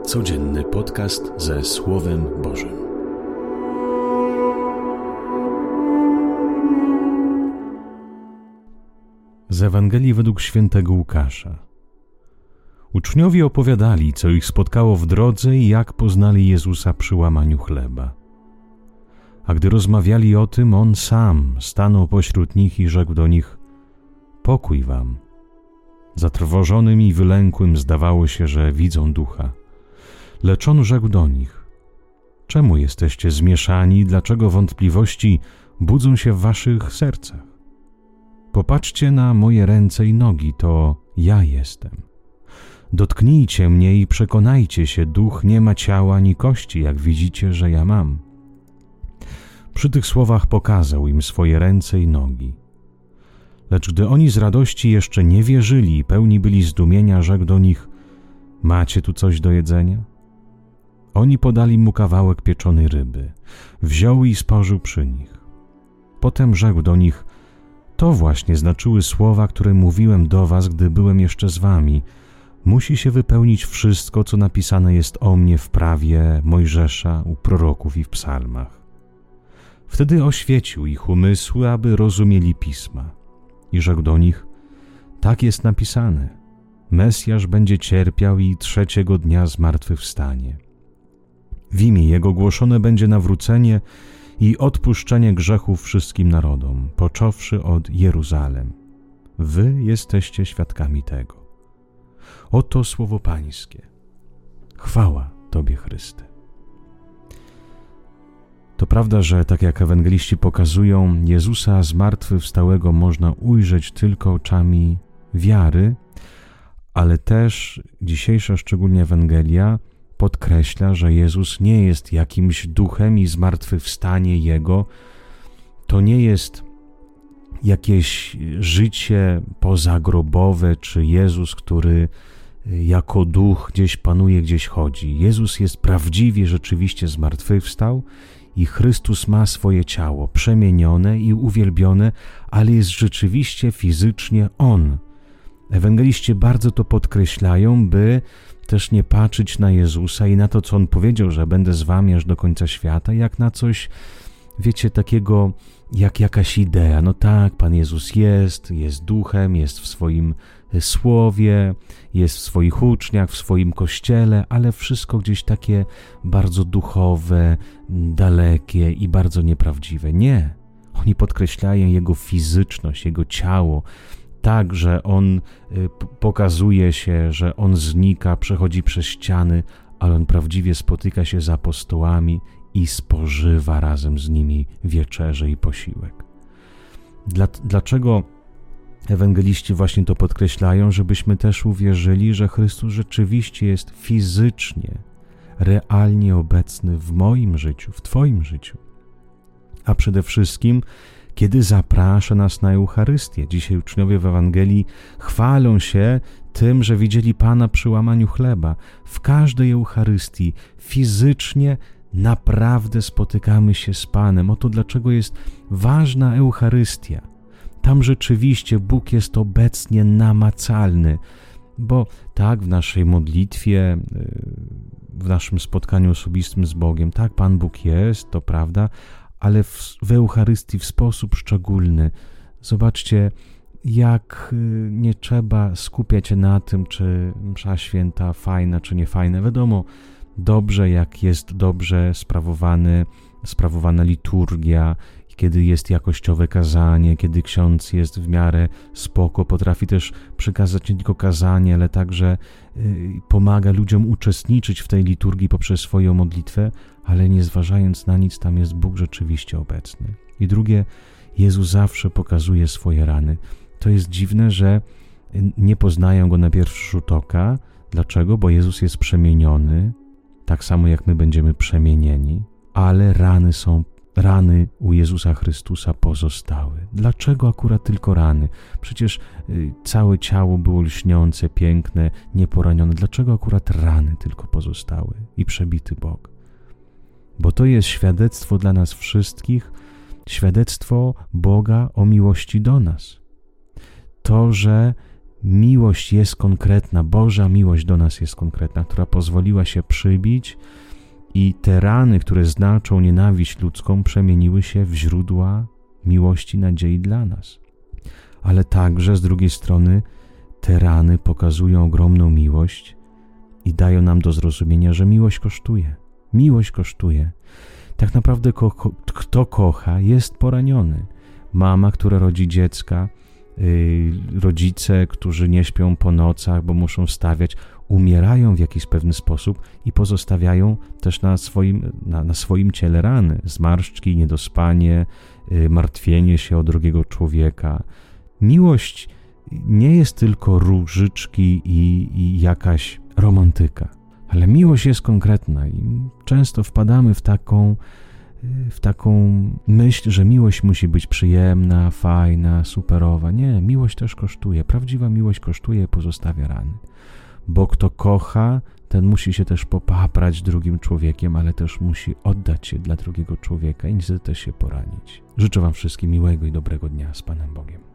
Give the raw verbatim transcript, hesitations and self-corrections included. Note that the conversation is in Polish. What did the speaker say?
Codzienny podcast ze Słowem Bożym. Z Ewangelii według świętego Łukasza. Uczniowie opowiadali, co ich spotkało w drodze i jak poznali Jezusa przy łamaniu chleba. A gdy rozmawiali o tym, On sam stanął pośród nich i rzekł do nich: Pokój wam. Zatrwożonym i wylękłym zdawało się, że widzą ducha. Lecz On rzekł do nich: Czemu jesteście zmieszani, dlaczego wątpliwości budzą się w waszych sercach? Popatrzcie na moje ręce i nogi, to ja jestem. Dotknijcie mnie i przekonajcie się, duch nie ma ciała ani kości, jak widzicie, że ja mam. Przy tych słowach pokazał im swoje ręce i nogi. Lecz gdy oni z radości jeszcze nie wierzyli i pełni byli zdumienia, rzekł do nich: Macie tu coś do jedzenia? Oni podali mu kawałek pieczonej ryby. Wziął i spożył przy nich. Potem rzekł do nich: To właśnie znaczyły słowa, które mówiłem do was, gdy byłem jeszcze z wami. Musi się wypełnić wszystko, co napisane jest o mnie w prawie Mojżesza, u proroków i w psalmach. Wtedy oświecił ich umysły, aby rozumieli pisma. I rzekł do nich: Tak jest napisane. Mesjasz będzie cierpiał i trzeciego dnia zmartwychwstanie. W imię Jego głoszone będzie nawrócenie i odpuszczenie grzechów wszystkim narodom, począwszy od Jeruzalem. Wy jesteście świadkami tego. Oto słowo Pańskie. Chwała Tobie, Chryste. To prawda, że tak jak ewangeliści pokazują, Jezusa zmartwychwstałego można ujrzeć tylko oczami wiary, ale też dzisiejsza szczególnie Ewangelia podkreśla, że Jezus nie jest jakimś duchem i zmartwychwstanie Jego to nie jest jakieś życie pozagrobowe, czy Jezus, który jako duch gdzieś panuje, gdzieś chodzi. Jezus jest prawdziwie, rzeczywiście zmartwychwstał i Chrystus ma swoje ciało przemienione i uwielbione, ale jest rzeczywiście fizycznie On. Ewangeliści bardzo to podkreślają, by też nie patrzeć na Jezusa i na to, co On powiedział, że będę z wami aż do końca świata, jak na coś, wiecie, takiego jak jakaś idea. No tak, Pan Jezus jest, jest duchem, jest w swoim słowie, jest w swoich uczniach, w swoim kościele, ale wszystko gdzieś takie bardzo duchowe, dalekie i bardzo nieprawdziwe. Nie. Oni podkreślają Jego fizyczność, Jego ciało, tak, że On pokazuje się, że On znika, przechodzi przez ściany, ale On prawdziwie spotyka się z apostołami i spożywa razem z nimi wieczerzę i posiłek. Dla, dlaczego ewangeliści właśnie to podkreślają? Żebyśmy też uwierzyli, że Chrystus rzeczywiście jest fizycznie, realnie obecny w moim życiu, w Twoim życiu. A przede wszystkim kiedy zaprasza nas na Eucharystię. Dzisiaj uczniowie w Ewangelii chwalą się tym, że widzieli Pana przy łamaniu chleba. W każdej Eucharystii fizycznie naprawdę spotykamy się z Panem. Oto dlaczego jest ważna Eucharystia. Tam rzeczywiście Bóg jest obecnie namacalny, bo tak w naszej modlitwie, w naszym spotkaniu osobistym z Bogiem, tak Pan Bóg jest, to prawda, ale w, w Eucharystii w sposób szczególny. Zobaczcie, jak nie trzeba skupiać się na tym, czy msza święta fajna, czy nie fajna. Wiadomo, dobrze, jak jest dobrze sprawowany, sprawowana liturgia, kiedy jest jakościowe kazanie, kiedy ksiądz jest w miarę spoko, potrafi też przekazać nie tylko kazanie, ale także y, pomaga ludziom uczestniczyć w tej liturgii poprzez swoją modlitwę, ale nie zważając na nic, tam jest Bóg rzeczywiście obecny. I drugie, Jezus zawsze pokazuje swoje rany. To jest dziwne, że nie poznają Go na pierwszy rzut oka. Dlaczego? Bo Jezus jest przemieniony, tak samo jak my będziemy przemienieni, ale rany są Rany u Jezusa Chrystusa pozostały. Dlaczego akurat tylko rany? Przecież y, całe ciało było lśniące, piękne, nieporanione. Dlaczego akurat rany tylko pozostały i przebity bok? Bo to jest świadectwo dla nas wszystkich, świadectwo Boga o miłości do nas. To, że miłość jest konkretna, Boża miłość do nas jest konkretna, która pozwoliła się przybić i te rany, które znaczą nienawiść ludzką, przemieniły się w źródła miłości, nadziei dla nas. Ale także z drugiej strony te rany pokazują ogromną miłość i dają nam do zrozumienia, że miłość kosztuje. Miłość kosztuje. Tak naprawdę ko- ko- kto kocha, jest poraniony. Mama, która rodzi dziecka, yy, rodzice, którzy nie śpią po nocach, bo muszą wstawiać, umierają w jakiś pewny sposób i pozostawiają też na swoim, na, na swoim ciele rany, zmarszczki, niedospanie, yy, martwienie się o drugiego człowieka. Miłość nie jest tylko różyczki i, i jakaś romantyka, ale miłość jest konkretna i często wpadamy w taką, w taką myśl, że miłość musi być przyjemna, fajna, superowa. Nie, miłość też kosztuje. Prawdziwa miłość kosztuje i pozostawia rany. Bo kto kocha, ten musi się też popaprać drugim człowiekiem, ale też musi oddać się dla drugiego człowieka i niestety też się poranić. Życzę wam wszystkim miłego i dobrego dnia z Panem Bogiem.